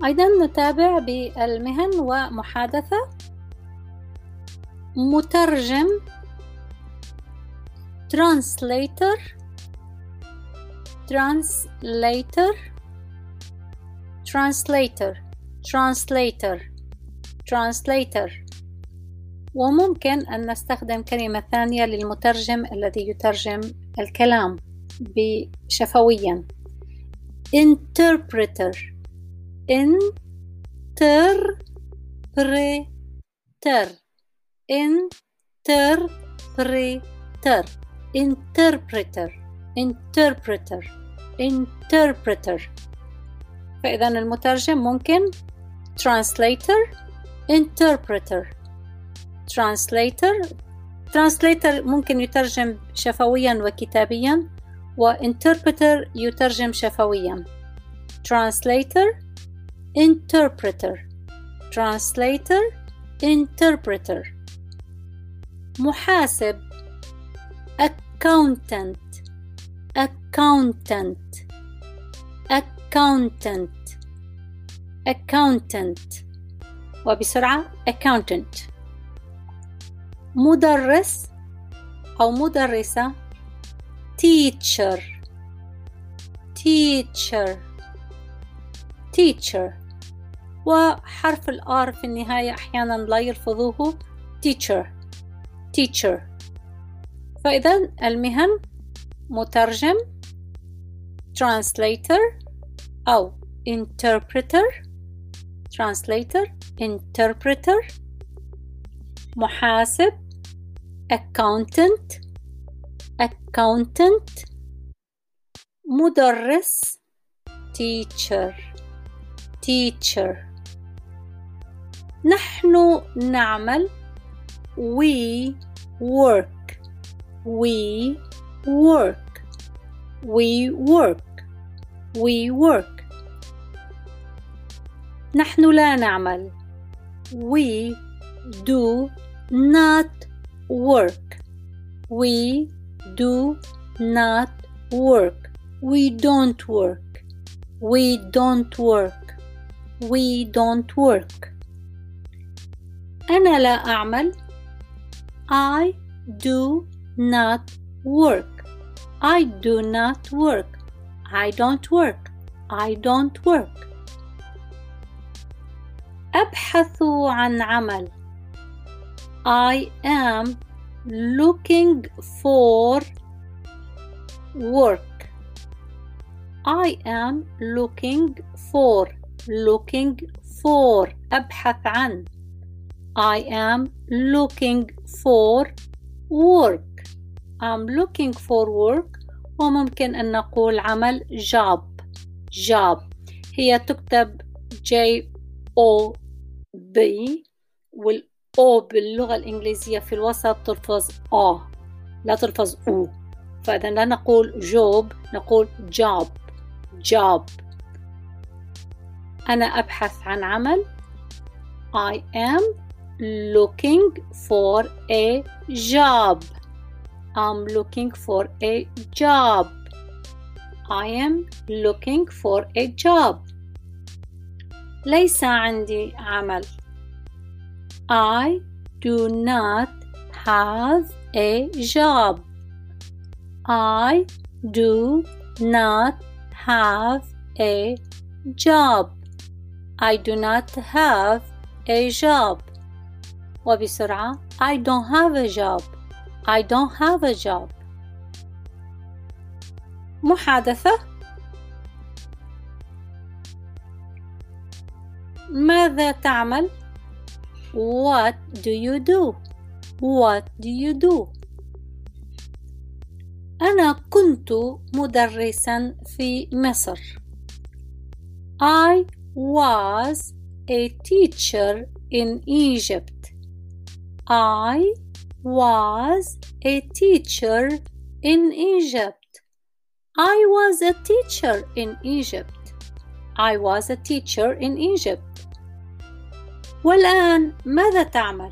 أيضا نتابع بالمهن ومحادثة. مترجم translator translator translator translator translator. وممكن أن نستخدم كلمة ثانية للمترجم الذي يترجم الكلام شفويا. interpreter interpreter interpreter interpreter interpreter interpreter. فإذا المترجم ممكن translator interpreter translator. translator ممكن يترجم شفويا وكتابيا، وinterpreter يترجم شفويا. translator interpreter translator interpreter. محاسب accountant accountant accountant accountant. وبسرعة accountant. مدرس أو مدرسة teacher teacher teacher. وحرف الآر في النهاية أحيانا لا يلفظوه teacher teacher. فإذا المهن مترجم translator أو interpreter translator interpreter. محاسب accountant accountant. مدرس teacher teacher. نحن نعمل we work we work we work we work. نحن لا نعمل we do not work we do not work we don't work we don't work we don't work. أنا لا أعمل I do not work I do not work I don't work I don't work. أبحث عن عمل I am looking for work I am looking for أبحث عن I am looking for work I'm looking for work. وممكن أن نقول عمل job هي تكتب J-O-B والأو باللغة الإنجليزية في الوسط تلفظ لا تلفظ أو. فإذا لا نقول job نقول job. أنا أبحث عن عمل I am looking for a job I'm looking for a job I am looking for a job. ليس عندي عمل I do not have a job I do not have a job I do not have a job. وبسرعة I don't have a job I don't have a job. محادثة. ماذا تعمل What do you do What do you do. أنا كنت مدرسا في مصر I was a teacher in Egypt I was a teacher in Egypt I was a teacher in Egypt I was a teacher in Egypt. والآن ماذا تعمل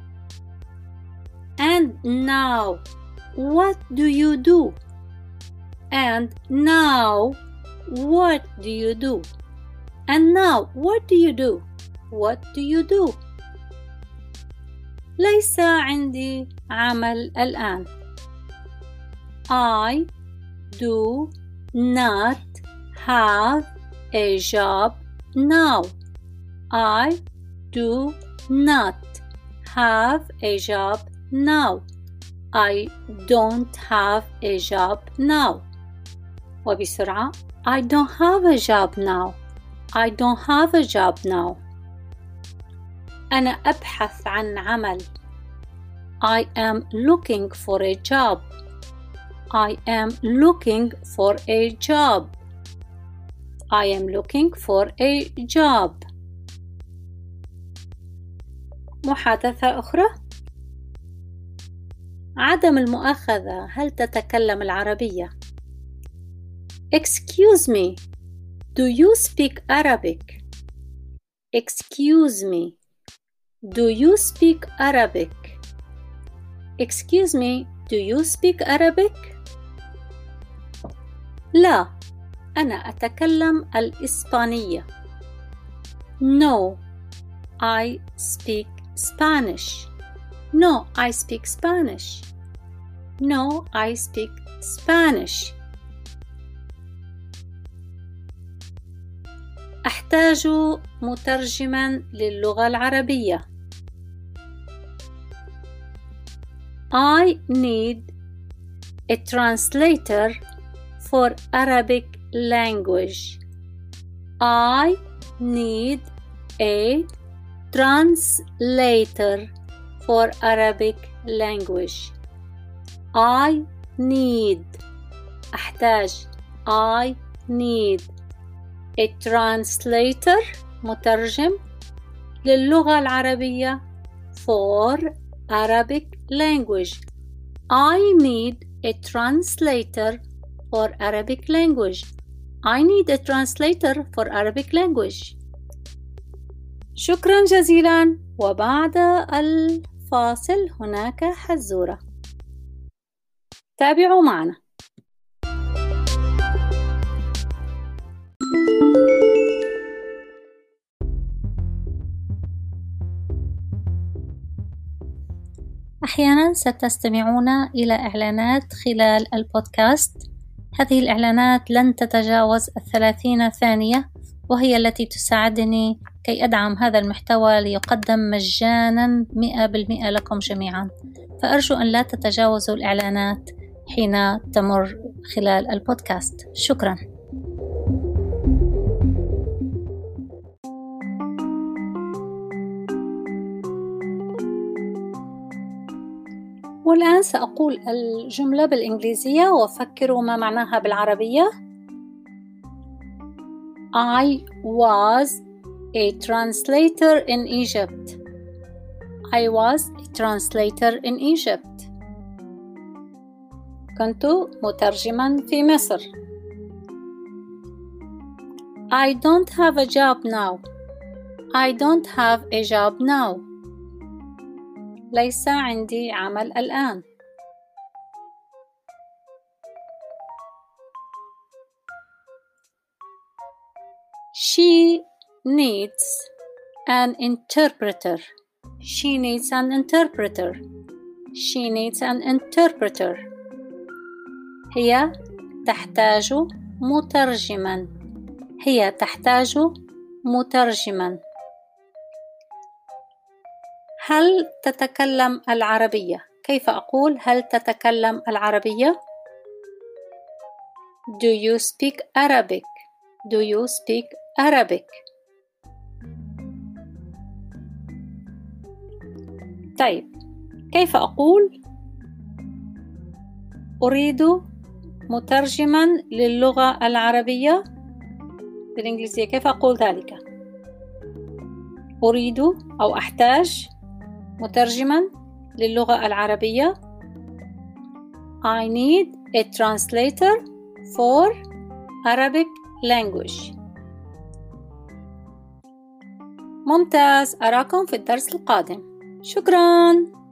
And now what do you do And now what do you do And now, what do you do? What do you do? ليس عندي عمل الآن. I do not have a job now. I do not have a job now. I don't have a job now. وبسرعة I don't have a job now. I don't have a job now. أنا أبحث عن عمل. I am looking for a job. I am looking for a job. I am looking for a job. محادثة أخرى. عدم المؤاخذة، هل تتكلم العربية؟ Excuse me, do you speak Arabic? Excuse me, do you speak Arabic? Excuse me, do you speak Arabic? لا، أنا أتكلم الإسبانية. No, I speak Spanish. No, I speak Spanish. No, I speak Spanish. أحتاج مترجماً للغة العربية. I need a translator for Arabic language. I need a translator for Arabic language. I need أحتاج I need a translator مترجم للغة العربية for Arabic language. I need a translator for Arabic language. I need a translator for Arabic language. شكرا جزيلا. وبعد الفاصل هناك حزورة. تابعوا معنا. أحيانا ستستمعون إلى إعلانات خلال البودكاست. هذه الإعلانات لن تتجاوز 30 ثانية، وهي التي تساعدني كي أدعم هذا المحتوى ليقدم مجانا 100% لكم جميعا. فأرجو أن لا تتجاوزوا الإعلانات حين تمر خلال البودكاست. شكرا. والآن سأقول الجملة بالإنجليزية وفكروا ما معناها بالعربية. I was a translator in Egypt. I was a translator in Egypt. كنت مترجما في مصر. I don't have a job now. I don't have a job now. ليس عندي عمل الآن. She needs an interpreter. She needs an interpreter. She needs an interpreter. هي تحتاج مترجما. هي تحتاج مترجما. هل تتكلم العربية؟ كيف أقول هل تتكلم العربية؟ Do you speak Arabic? Do you speak Arabic? طيب، كيف أقول أريد مترجما للغة العربية بالإنجليزية؟ كيف أقول ذلك؟ أريد أو أحتاج مترجما للغة العربية. I need a translator for Arabic language. ممتاز. أراكم في الدرس القادم. شكراً.